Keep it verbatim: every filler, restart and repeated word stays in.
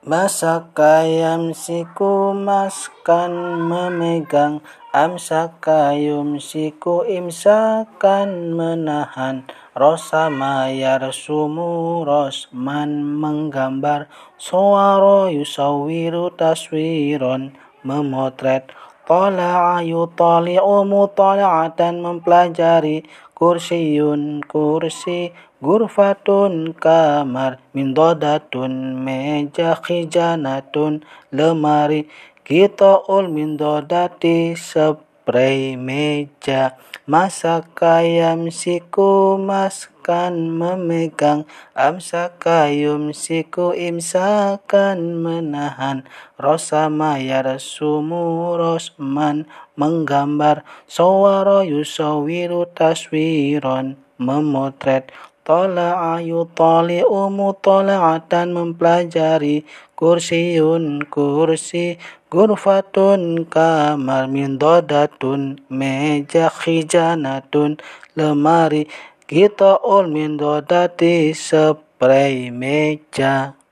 Masaka yamsiku maskan memegang, amsaka yumsiku imsakan menahan, rosama yarsumu rosman menggambar, sowaro yusawiru taswiron memotret, tola'a yutoli'u mutola'atan mempelajari, kursiyun kursi, gurfatun kamar, mindodatun meja, khijanatun lemari, kitoul mindodati spray meja, masaka yamsiku maskan memegang, amsaka yumsiku imsakan menahan, rosama yarsumu rosman menggambar, sowaro yusawiru taswiron memotret, tola'a yutoli'u mutola'atan mempelajari, kursiyun kursi, gurfatun kamar, mindodatun meja, khijanatun lemari, kitoul mindodati spray meja.